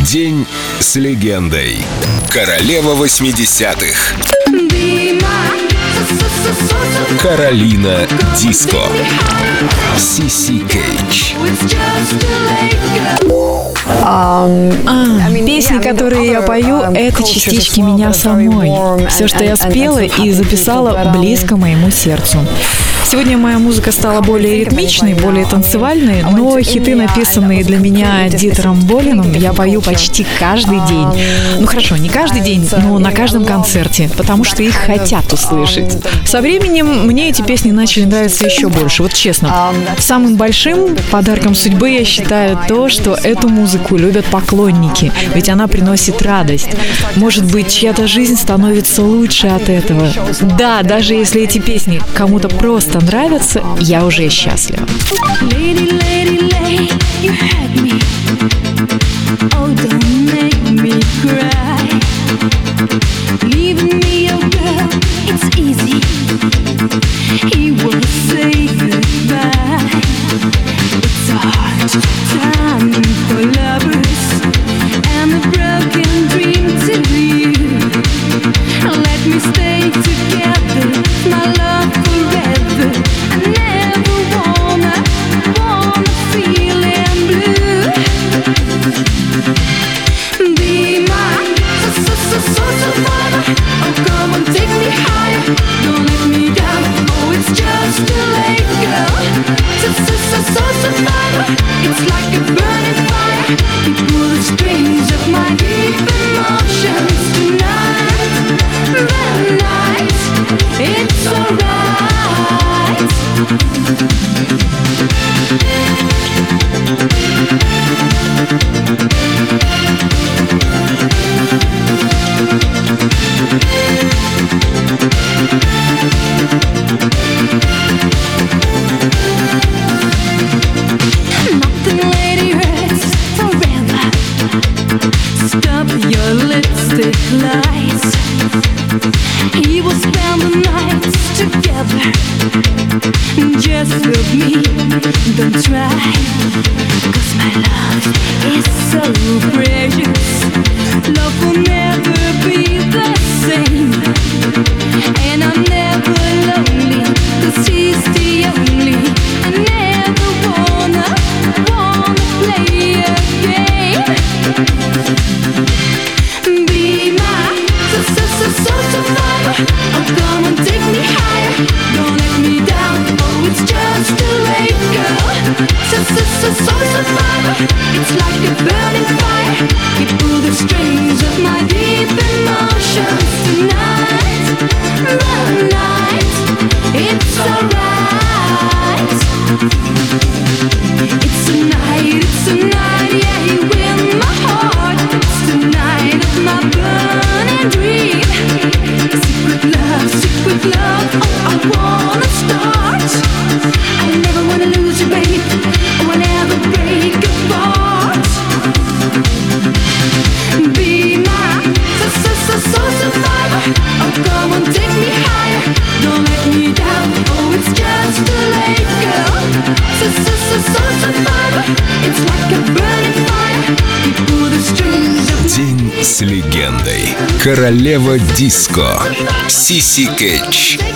День с легендой. Королева 80-х. Каролина Диско. Сиси Кейдж. Песни, которые я пою, это частички меня самой. Все, что я спела и записала, близко моему сердцу. Сегодня моя музыка стала более ритмичной, более танцевальной, но хиты, написанные для меня Дитером Болином, я пою почти каждый день. Ну хорошо, не каждый день, но на каждом концерте, потому что их хотят услышать. Со временем мне эти песни начали нравиться еще больше, вот честно. Самым большим подарком судьбы я считаю то, что эту музыку любят поклонники, ведь она приносит радость. Может быть, чья-то жизнь становится лучше от этого. Да, даже если эти песни кому-то просто нравятся, я уже счастлива. Lights. He will spend the nights together. Just love me, don't try. 'Cause my love is so precious. Love will never be the same. And I'm never lonely, 'cause he's the only. I never wanna play a game. Oh, come on, take me higher. Don't let me down. Oh, it's just too late, girl. So survivor. It's like a burning fire. You pull the strings of my deep emotions tonight. The night, it's alright. It's a night, yeah, you win my heart. It's the night of my burning dream. Secret love, oh, I wanna start. I never wanna lose you, babe. Oh, I never break apart. Be my survivor. Oh, come on, take me higher. Don't let me down. Oh, it's just too late, girl. Survivor. It's like a burning fire. You pull the strings of День с легендой. Королева Диско. Сиси Кейдж.